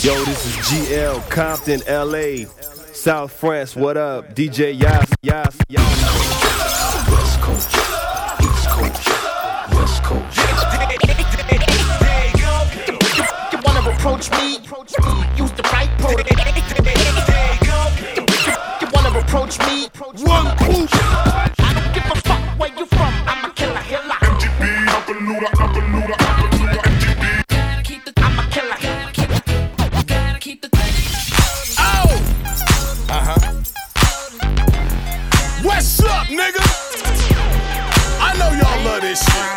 Yo, this is GL, Compton, LA, South France, what up? DJ Yas, Yas, Yas. West Coast, East Coast, West Coast. You wanna approach me? Use the right protocol. You wanna approach me? One push. I don't give a fuck where you from. I'm a killer hiller. MGB, Upper-Luda, Upper-Luda, Upper-Luda, MGB. I'm a killer. Oh! What's up, nigga? I know y'all love this shit.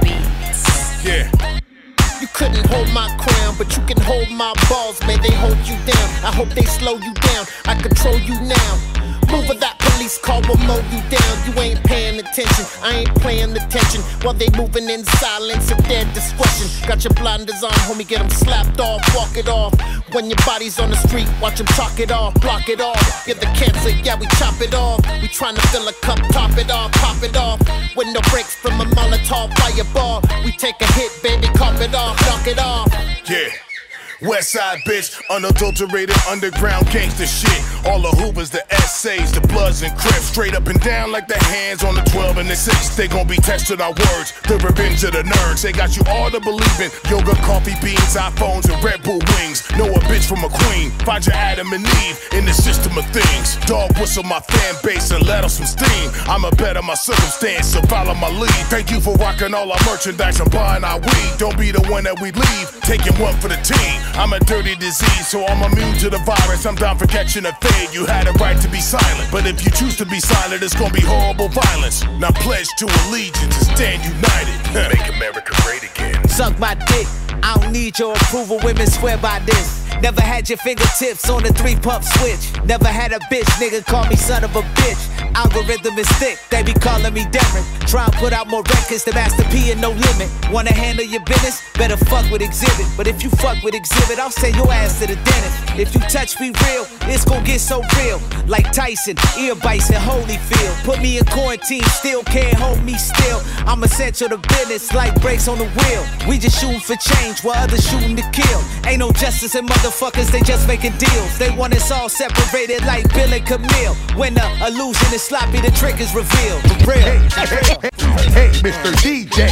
Yeah. You couldn't hold my crown, but you can hold my balls. May they hold you down. I hope they slow you down. I control you now. Move with that police car will mow you down. You ain't paying attention. I ain't playing attention. While they moving in silence at their discretion. Got your blinders on, homie, get them slapped off, walk it off. When your body's on the street, watch them chalk it off, block it off. Get the cancer, yeah, we chop it off. We tryna fill a cup, top it off, pop it off. With no breaks from a Molotov fireball. We take a hit, baby, cop it off, knock it off. Yeah. Westside bitch, unadulterated underground gangster shit. All the Hoovers, the essays, the Bloods and Crips, straight up and down like the hands on the 12 and the 6. They gon' be tested our words, the revenge of the nerds. They got you all to believe in yoga, coffee beans, iPhones, and Red Bull wings. Know a bitch from a queen, find your Adam and Eve in the system of things. Dog whistle my fan base and let off some steam. I'm a better my circumstance, so follow my lead. Thank you for rocking all our merchandise and buying our weed. Don't be the one that we leave, taking one for the team. I'm a dirty disease, so I'm immune to the virus. I'm down for catching a fade. You had a right to be silent, but if you choose to be silent, it's gonna be horrible violence. Now pledge to allegiance and stand united. Make America great again. Suck my dick, I don't need your approval. Women swear by this. Never had your fingertips on the 3-pump switch. Never had a bitch, nigga call me son of a bitch. Algorithm is thick, they be calling me Darren. Try and put out more records than Master P and No Limit. Wanna handle your business? Better fuck with Exhibit. But if you fuck with Exhibit, I'll send your ass to the dentist. If you touch me real, it's gon' get so real. Like Tyson, ear bites in Holyfield. Put me in quarantine, still can't hold me still. I'm essential to business, like brakes on the wheel. We just shooting for change while others shooting to kill. Ain't no justice in motherfuckers, they just making deals. They want us all separated like Bill and Camille. When the illusion is sloppy, the trick is revealed. For real. Hey, Mr. DJ.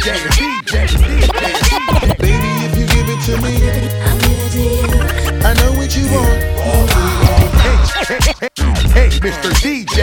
Baby, if you give it to me, I'll give it to you. I know what you want. Hey, Mr. DJ.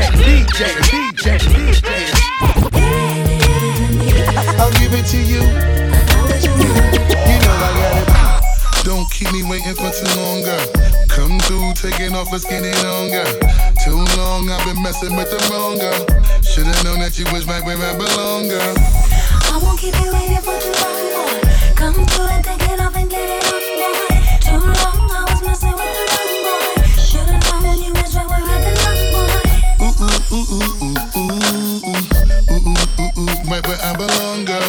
I'll give it to you. You know I got it. Don't keep me waiting for too long, girl. Come through, taking off, let's get it on, girl. Too long, I've been messing with the wrong girl. Should've known that you was right where I belong, girl. I won't keep you waiting for too long, boy. Come through and take it off and get it on, boy. Too long, I was messing with the wrong boy. Should've known you was right where I belong, boy. Right where I belong, girl.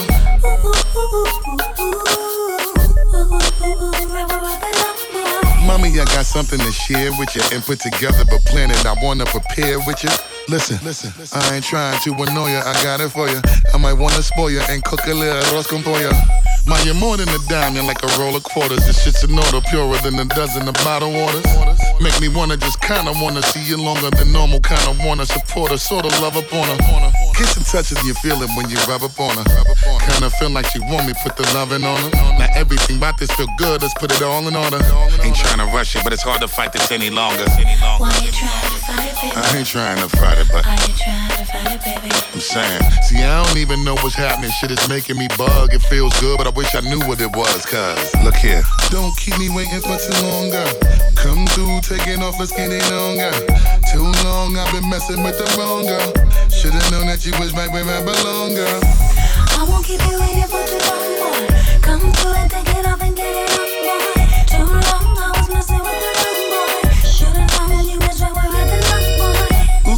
Mommy, I got something to share with you and put together, but plan it. I wanna prepare with you. Listen, I ain't trying to annoy you. I got it for you. I might wanna spoil you and cook a little arroz con pollo. Ma, you're more than a dime, you're like a roll of quarters. This shit's an order, purer than a dozen of bottled waters. Make me wanna just kinda wanna see you longer than normal. Kinda wanna support her, sorta love up on her. Kiss and touch and you feel it when you rub up on her. Kinda feel like she want me, put the loving on her. Now everything about this feel good, let's put it all in order. Ain't trying to rush it, but it's hard to fight this any longer. Why you trying to fight it, baby? I ain't trying to fight it, but Are you trying to fight it, baby? I'm saying, see, I don't even know what's happening. Shit is making me bug. It feels good, but I wish I knew what it was. Cause, look here. Don't keep me waiting for too long, girl. Come through, taking off, let's get it on, girl. Too long, I've been messing with the wrong girl. Should've known that you was right where I belong, girl. I won't keep you waiting for too long, boy. Come through and take it off and get it on, boy. Too long, I was messing with the wrong boy. Should've known you was right where I belong, boy.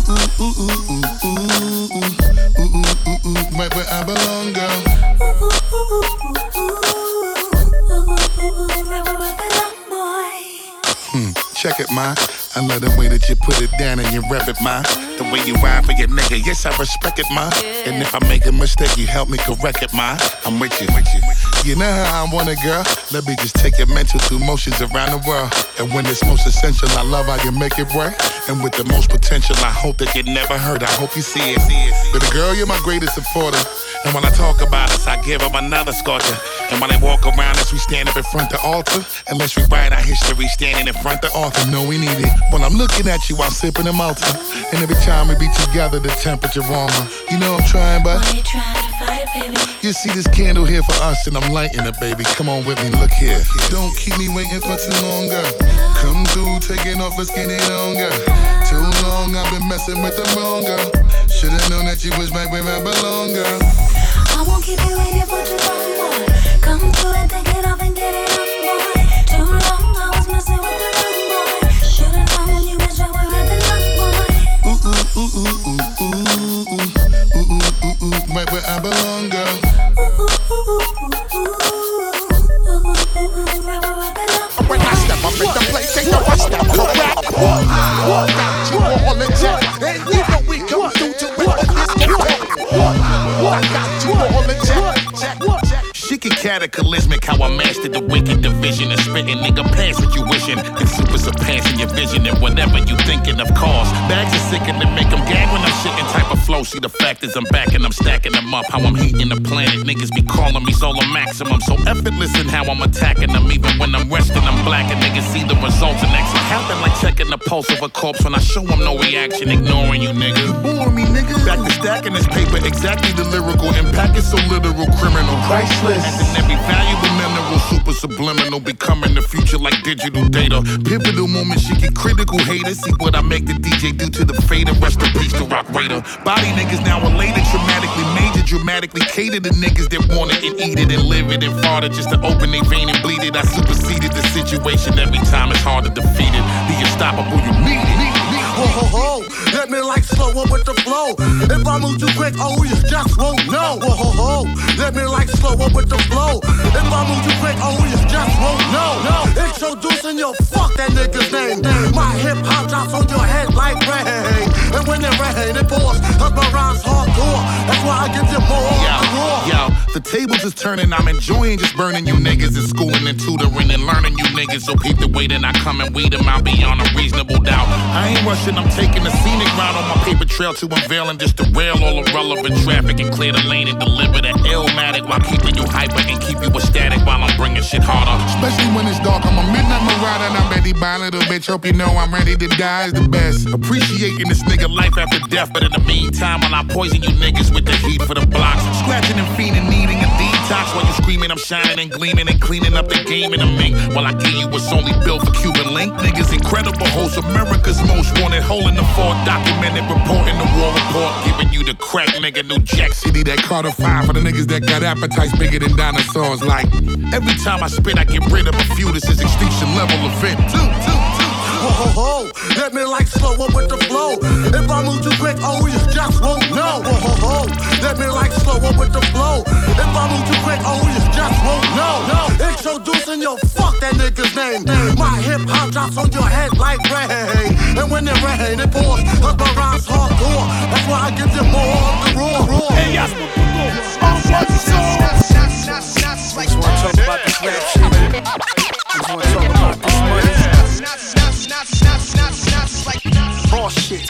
Right where I belong, girl. Right where I belong, boy. Check it, ma. I love the way that you put it down and you rep it, ma. The way you ride for your nigga, yes, I respect it, ma. And if I make a mistake, you help me correct it, ma. I'm with you. You know how I want it, girl. Let me just take your mental through motions around the world. And when it's most essential, I love how you make it work. And with the most potential, I hope that you never hurt. I hope you see it. But girl, you're my greatest supporter. And when I talk about us, I give them another sculpture. And when they walk around us, we stand up in front of the altar. Unless we write our history standing in front of the author. No, we need it. When I'm looking at you, I'm sipping a Malta. And every time we be together, the temperature warmer. You know I'm trying, but Why you trying to fight, baby? you see this candle here for us, and I'm lighting it, baby. Come on with me, look here. Don't keep me waiting for too long, girl. Come through, taking off, let's get it on, girl. Too long, I've been messing with the wrong girl. Should've known that you was right where I belong, girl. I won't keep you waiting for too long, boy. Come through and take it off and get it off, boy. Too long, I was messing with the wrong boy. Should've known you was right where I belong, boy. Ooh, ooh, ooh, ooh, ooh, ooh, ooh, ooh, ooh, ooh, ooh, right where I belong, girl. When I step up in the place, they know I step correct. Got you all in check, and you know we come through to rip this game. I got you all in check. She can cataclysmic how I mastered the wicked division of spitting, nigga, pass what you wishing. And super surpassing your vision and whatever you thinking of cause. Bags are sick and they make them gag when I'm shitting type of flow. See the fact is I'm back and I'm stacking them up. How I'm heating the planet, niggas be calling me solar maximum. So effortless in how I'm attacking them. Even when I'm resting, I'm black and niggas see the results. And next happen like checking the pulse of a corpse. When I show them no reaction, ignoring you, nigga. Bore me, nigga. Back to stacking this paper, exactly the lyrical impact is so literal, criminal. Priceless. And every valuable mineral, super subliminal, becoming the future like digital data. Pivotal moments, she get critical haters. See what I make the DJ do to the fader. Rest in peace to Rock Raider. Body niggas now elated, traumatically major, dramatically cater to niggas that want it and eat it and live it and fart it just to open their vein and bleed it. I superseded the situation every time it's hard to defeat it. The unstoppable, you need it. Ho ho ho, let me like slow up with the flow. If I move too quick, oh you just won't know. Ho ho ho, let me like slow up with the flow. If I move too quick, oh you just won't know. Introducing your fuck that nigga's name. My hip hop drops on your head like rain. And when it rain, it pours. Cause my rhymes hardcore. That's why I give you more. Yo, the tables is turning. I'm enjoying just burning you niggas and schooling and tutoring and learning you niggas. So keep the way that I come and weed them out beyond a reasonable doubt. I ain't rushing. I'm taking a scenic route on my paper trail to unveil and just derail all irrelevant traffic and clear the lane and deliver the illmatic while keeping you hyper and keep you ecstatic while I'm bringing shit harder. Especially when it's dark, I'm a midnight marauder and I'm ready by a little bitch. Hope you know I'm ready to die is the best. Appreciating this nigga life after death, but in the meantime, while I poison you niggas with the heat for the blocks, scratching and fiending, needing a detox while you screaming, I'm shining and gleaming and cleaning up the game in the mink. While I give you what's only built for Cuban link, niggas incredible hosts, America's most wanted. Hole in the fort, documented, reporting the war report, giving you the crack, nigga, New Jack City, that Carter 5 for the niggas that got appetites bigger than dinosaurs. Like, every time I spit, I get rid of a few. This is extinction level event. Ho ho ho, let me like slow up with the flow. If I move too quick, oh you just won't know. Ho ho ho, let me like slow up with the flow. If I move too quick, oh you just won't know. Introducing your fuck that nigga's name. My hip hop drops on your head like rain. And when it rain, it pours. Cause my rhymes hardcore. That's why I give you more of the raw. Hey, yes, just wanna talk about this rap shit. Just wanna talk about this money. Boss shit.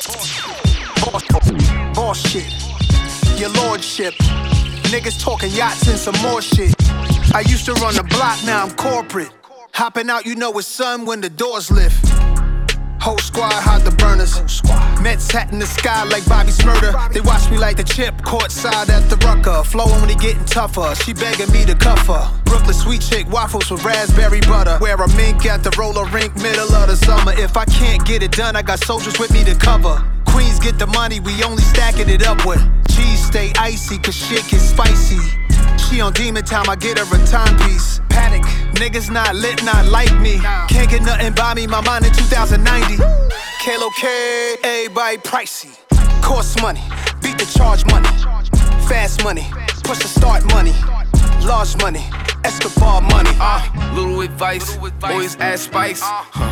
Boss shit. Your lordship. Niggas talking yachts and some more shit. I used to run the block, now I'm corporate. Hopping out, you know it's sun when the doors lift. Whole squad hide the burners. Mets hat in the sky like Bobby Smurder. They watch me like the chip, courtside at the Rucker. Flowing when he getting tougher, she begging me to cuff her. Brooklyn sweet chick, waffles with raspberry butter. Wear a mink at the roller rink, middle of the summer. If I can't get it done, I got soldiers with me to cover. Queens get the money, we only stacking it up with. Cheese stay icy, cause shit get spicy. She on demon time, I get her a timepiece. Panic, niggas not lit, not like me. Can't get nothing by me, my mind in 2090. Kalo K, everybody pricey. Cost money, beat the charge money. Fast money, push the start money. Large money, Escobar money. Little advice, always add spice.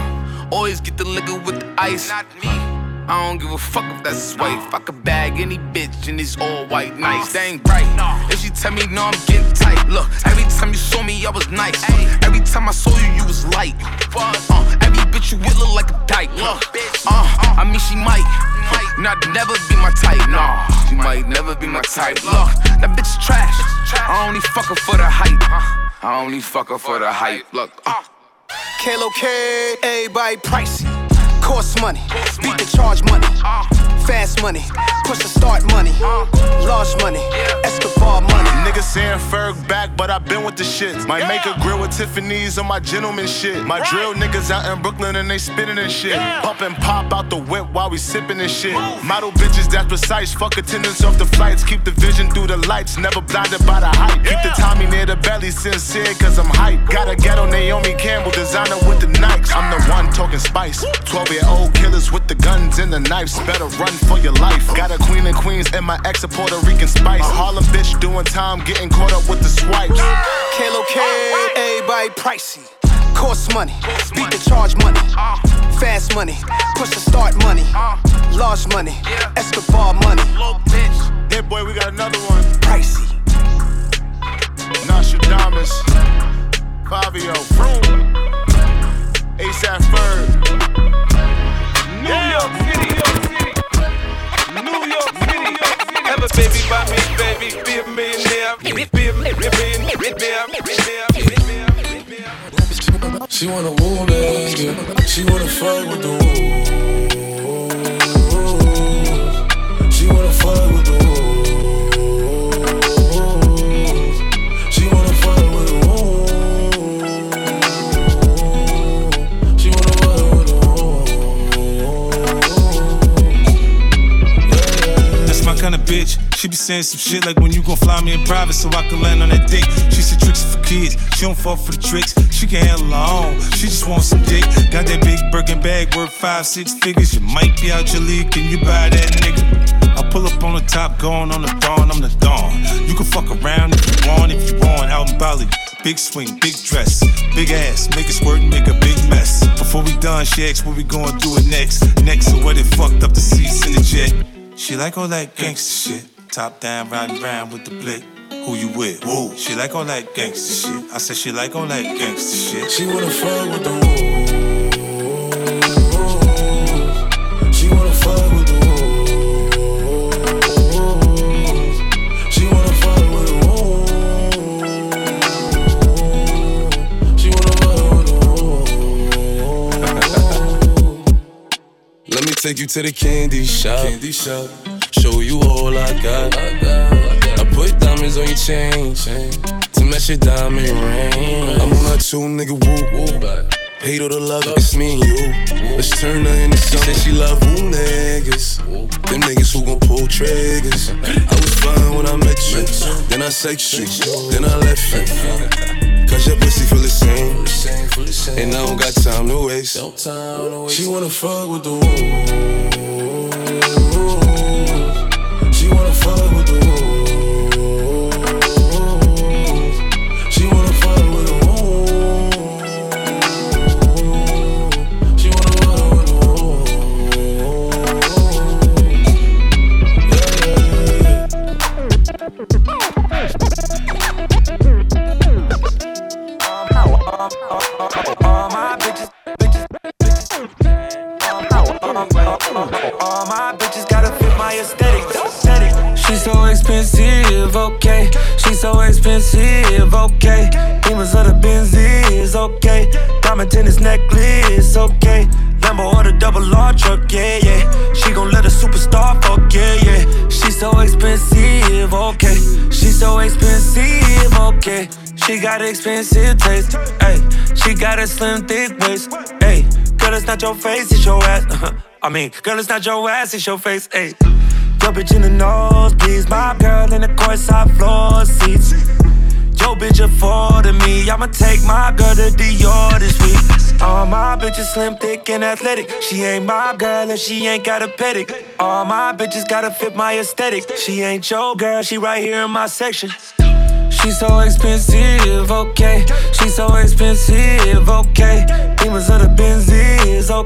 Always get the liquor with the ice. Not me. I don't give a fuck if that's his wife. I could bag any bitch and it's all white nice. That ain't right. If she tell me no, I'm getting tight. Look, every time you saw me, I was nice. Every time I saw you, you was light. Every bitch you with look like a dyke. I mean she might not never be my type. Nah, she might never be my type. Look, that bitch is trash. I only fuck her for the hype. I only fuck her for the hype. Look, Kalo K, everybody pricey. Cost money, beat the charge money, fast money, push the start money, large money, Escobar money. Niggas saying Ferg back, but I been with the shit. Might make a grill with Tiffany's on my gentleman shit. My drill niggas out in Brooklyn and they spittin' and shit. Pump and pop out the whip while we sippin' and shit. Model bitches that's precise, fuck attendance off the flights. Keep the vision through the lights, never blinded by the hype. Keep the Tommy near the belly, sincere cause I'm hype. Got a ghetto Naomi Campbell, designer with the Nikes. I'm the one talking spice, 12-year-old killers with the guns and the knives. Better run for your life. Got a queen and queens and my ex a Puerto Rican spice. A Harlem bitch doing time, getting caught up with the swipes. Kalo K, everybody pricey. Cost money, beat the charge money, fast money, push the start money, large money, Escobar money. Hey boy, we got another one. Pricey. Nostradamus, Fabio, Vroom, ASAP Ferg. New York City, New York City. Have a baby by me, baby. Be a millionaire. Be a millionaire. She wanna woo nigga. She wanna fuck with the woo. She wanna fuck with the woo. She wanna fuck with the woo. She wanna fuck with the woo. That's my kind of bitch. She be saying some shit like when you gon' fly me in private so I can land on that dick. She said tricks for kids, she don't fall for the tricks. She can handle her own, she just wants some dick. Got that big Birkin bag worth 5-6 figures. You might be out your league, can you buy that nigga? I pull up on the top, going on the dawn, I'm the dawn. You can fuck around if you want, out in Bali. Big swing, big dress, big ass, make it squirt and make a big mess. Before we done, she asked what we gon' do it next. Next to what it fucked up the seats in the jet. She like all that gangsta shit. Top down, riding round with the blick. Who you with? Woo. She like all that gangsta shit. I said she like all that gangsta shit. She wanna fuck with the woo. She wanna fuck with the woo. She wanna fuck with the woo. She wanna fuck with the woo. Let me take you to the candy shop. Show you all I got. I put diamonds on your chain to match your diamond ring. I'm on a 2 nigga woo. Hate all the love, it's me and you. Let's turn her into something. She love woo niggas. Them niggas who gon' pull triggers. I was fine when I met you. Then I sex you. Then I left you. Cause your pussy feel the same. And I don't got time to waste. She wanna fuck with the woo. She wanna fuck with the woo. She wanna fuck with the woo. She wanna fuck with the woo. All my bitches, all my bitches gotta fit my aesthetic. She's so expensive, okay. She's so expensive, okay. Demons of the Benzies, okay. Diamond tennis necklace, okay. Lambo or the double R truck, yeah, yeah. She gon' let a superstar fuck, yeah, yeah. She's so expensive, okay. She's so expensive, okay. She got expensive taste, ayy. She got a slim, thick waist, ayy. Girl, it's not your face, it's your ass. Girl, it's not your ass, it's your face, ayy. Yo, bitch in the nosebleeds, my girl in the courtside floor seats. Yo, bitch affording me, I'ma take my girl to Dior this week. All my bitches slim, thick, and athletic. She ain't my girl and she ain't got a pedic. All my bitches gotta fit my aesthetic. She ain't your girl, she right here in my section. She's so expensive, okay. She's so expensive, okay. Demons of the Benzies,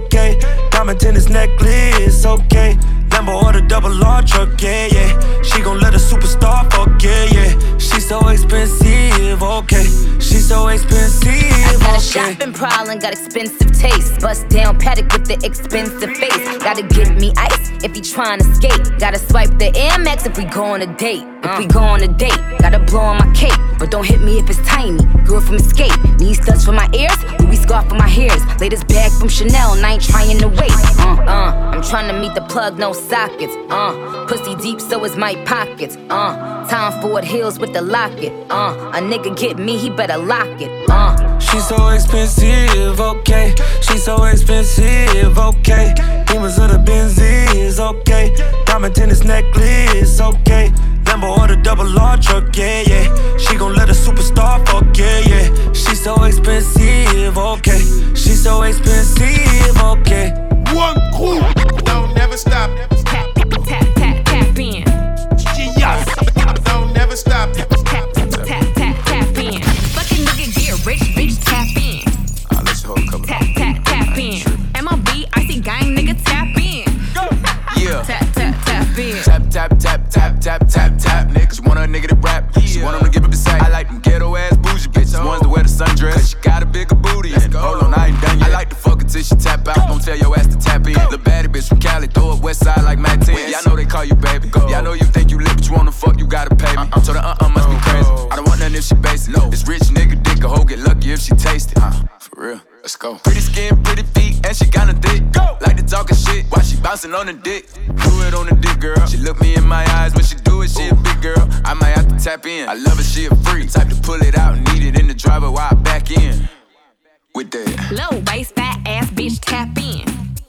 tennis necklace, okay. Lambo or the double R truck, yeah, yeah. She gon' let a superstar fuck, yeah, yeah. She's so expensive, okay. She's so expensive, I got a okay. shopping problem, got expensive taste. Bust down paddock with the expensive face. Gotta get me ice if he tryna skate. Gotta swipe the Air Max if we go on a date. If we go on a date, gotta blow on my cake. But don't hit me if it's tiny. Girl from Escape, need studs for my ears, Louis scarf for my hairs. Latest bag from Chanel, and I ain't trying to wait. I'm trying to meet the plug, no sockets. Pussy deep, so is my pockets. Tom Ford Hills with the locket. A nigga get me, he better lock it. She's so expensive, okay. She's so expensive, okay. Demons of the Benzies, okay. Diamond tennis necklace, okay. Lambo or the double R truck, yeah, yeah. She gon' let a superstar fuck, yeah, yeah. She's so expensive, okay. She's so expensive, okay. One crew, don't never stop. Tap, tap, tap, tap in. Yes, don't never stop. Tap, tap, tap in. Fucking nigga get rich, bitch, tap in. Let's hold a couple. Tap, tap, tap in. MLB, icy gang, nigga, tap in. Yeah. Tap, tap, tap in. Tap, tap, tap, tap, tap, tap, tap. Niggas want a nigga to rap. She want him to give up the sack. I like them ghetto ass bougie bitches. Ones that wear the sundress. Cause she got a bigger booty. Hold on, I ain't done yet. I like to fuck her till she tap out. Don't tell your ass to tap in. The baddie bitch from Cali, throw up west side like Matt 10. Y'all know they call you baby. Y'all know you think you lit, but you wanna fuck, you gotta pay me. So the must be crazy. I don't want nothing if she basic. This rich nigga dick a hoe get lucky if she taste it. For real. Let's go. Pretty skin, pretty feet, and she kinda thick. Go. Like to talking shit while she bouncing on the dick. Do it on the dick, girl. She look me in my eyes when she do it. She a big girl. I might have to tap in. I love her, she a freak. Type to pull it out and need it in the driver while I back in. With that. Low waist, fat ass bitch, tap in.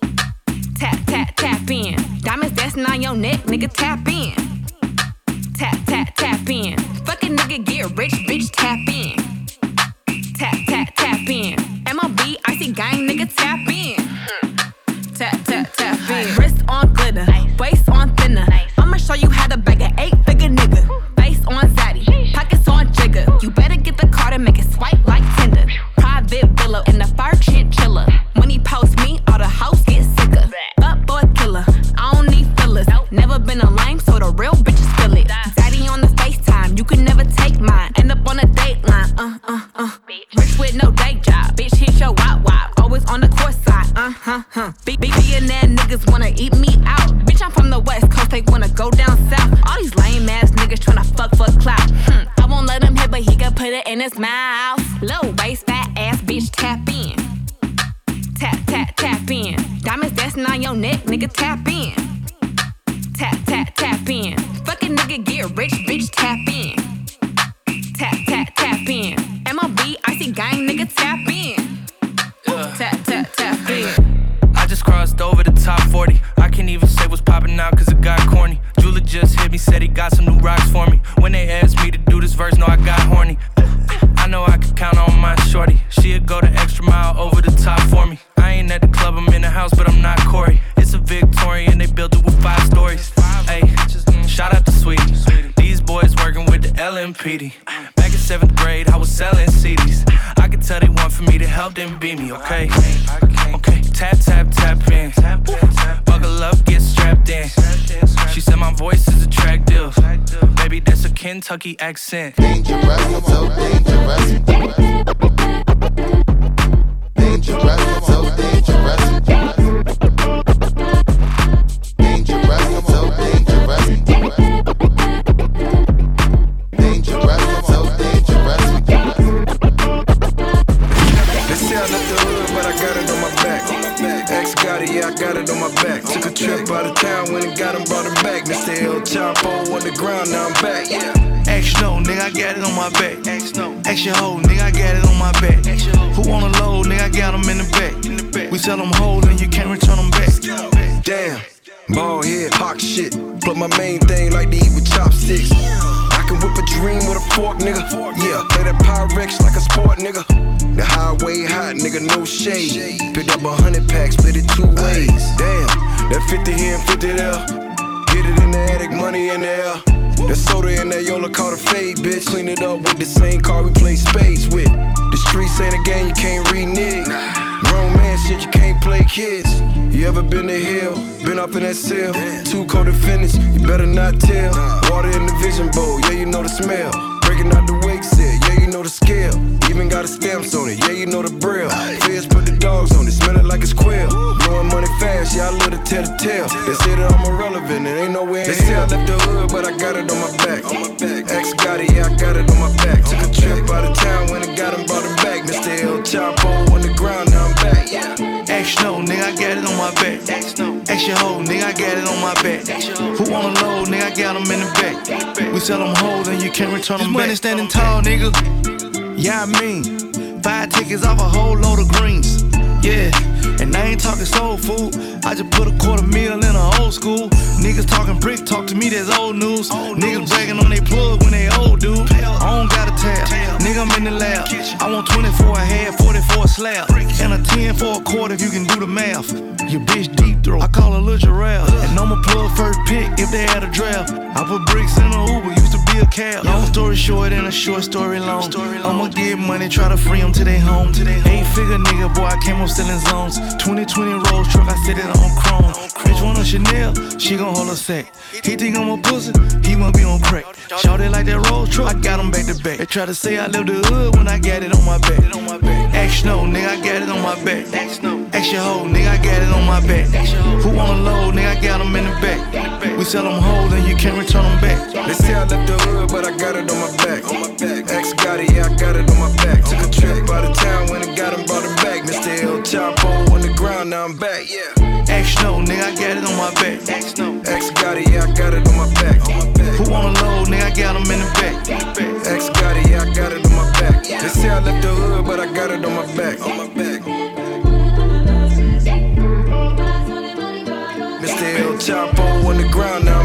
Tap, tap, tap in. Diamonds dancing on your neck, nigga, tap in. Tap, tap, tap in. Fucking nigga get rich, bitch, tap in. Tap, tap, tap in. MLB, icy gang, nigga, tap in. Tap, tap, tap in. Wrist on glitter, waist on thinner. I'ma show you how to bag an 8-figure nigga. Face on zaddy, pockets on jigger. You better get the card and make it swipe like Tinder. Private villa in the fur chinchilla. When he post me, all the hoes get sicker. Up boy killer, I don't need fillers. Never been a lame, so the real bitches feel it. Daddy on the FaceTime, you can never take mine. End up on a dateline, Rich with no day job, bitch hit your wop. Always on the court side, Billionaire niggas wanna eat me out. Bitch, I'm from the West Coast, they wanna go down south. All these lame ass niggas tryna fuck for clout. I won't let him hit, but he can put it in his mouth. Low waist, fat ass bitch, tap in. Tap, tap, tap in. Diamonds dancing on your neck, nigga, tap in. Tap, tap, tap in. Fucking nigga get rich, bitch, tap in. Tap, tap, tap in. MLB, icy gang, nigga, tap in. Tap, tap, tap in. I just crossed over the top 40. I can't even say what's poppin' now cause it got corny. Jula just hit me, said he got some new rocks for me. When they asked me to do this verse, no, I got horny. I know I can count on my shorty. She'd go the extra mile over the top for me. I ain't at the club, I'm in the house, but I'm not Corey. It's a Victorian, they built it with 5 stories. Ayy, shout out to Sweetie. These boys working with the LMPD. Back in 7th grade, I was selling CDs. I could tell they want for me to help them beat me, okay? Okay, tap, tap, tap in. Buckle up, get strapped in. She said my voice is attractive. Baby, that's a Kentucky accent. Dangerous, so dangerous. Dangerous, so dangerous. Dangerous, so dangerous. Dangerous, so dangerous. They say I left the hood, but I got it on my back. Ex got it, yeah, I got it on my back. Took a trip out of town, went and got him, brought him back. Mr. El Chapo on the ground, now I'm back. Action no, nigga, I got it on my back. Action hoe, nigga, I got it on my back. Who on the load, nigga, I got them in the back. We sell them whole and you can't return them back. Damn, bald head, hawk shit. Plug my main thing like to eat with chopsticks. I can whip a dream with a fork, nigga. Yeah, play that Pyrex like a sport, nigga. The highway hot, nigga, no shade. Picked up 100 packs, split it 2 ways. Damn, that 50 here and 50 there. Get it in the attic, money in the air. That soda in that Yola caught a fade, bitch. Clean it up with the same car we play spades with. The streets ain't a game you can't renege. Grown man shit, you can't play kids. You ever been to hell? Been up in that cell? Too cold to finish, you better not tell. Water in the vision bowl, yeah, you know the smell. Breaking out the wake set, yeah, you know the scale. Even got a stamps on it, yeah, you know the braille. Feds put the dogs on it, smell it like it's quail. Blowing money fast, yeah, I love to tell the tale. They say that I'm irrelevant, it ain't no way in hell. They say I left the hood, but I got it on my back. X got it, yeah, I got it on my back. Took a trip out of town, when I got him, brought him back. Mr. El Chapo on the ground, now I'm back. X no, nigga, I got it on my back. X your hoe, nigga, I got it on my back. Who wanna load, nigga, I got them in the back. We sell them hoes and you can't return them back. Money standing tall, nigga. Yeah, I mean, 5 tickets off a whole load of greens. Yeah, and I ain't talking soul food. I just put a $250,000 in a old school. Niggas talking brick, talk to me, that's old news. Niggas bragging on they plug when they old, dude. I don't got a tab, nigga, I'm in the lab. I want 24 a head, 40 for a slab. And a 10 for a quarter if you can do the math. Your bitch deep throat, I call her Lil Jarrell. And I'ma plug first pick if they had a draft. I put bricks in a Uber, used to be a cab. Long story short and a short story long. I'ma get money, try to free them to they home. 8-figure nigga, boy, I came up selling zones. 2020 Rolls truck, I set it on chrome. Bitch want a Chanel, she gon' hold a sack. He think I'm a pussy, he wanna be on crack. Shout it like that Rolls truck, I got him back to back. They try to say I live the hood when I got it on my back. Action no, nigga, I got it on my back. Action hoe, nigga, I got it on my back. Who wanna load, nigga, I got them in the back. We sell them hoes and you can't return them back. They say I left the hood, but I got it on my back. X got it, yeah, I got it on my back. Took a trip out of town when I got him, brought him back. Mr. El Chapo on the ground, now I'm back, yeah. X no, nigga, I got it on my back. X got it, yeah, I got it on my back. Who wanna load, nigga, I got them in the back. X got it, yeah, I got it on my back. They say I left the hood, but I got it on my back. Mr. El Chapo on the ground now.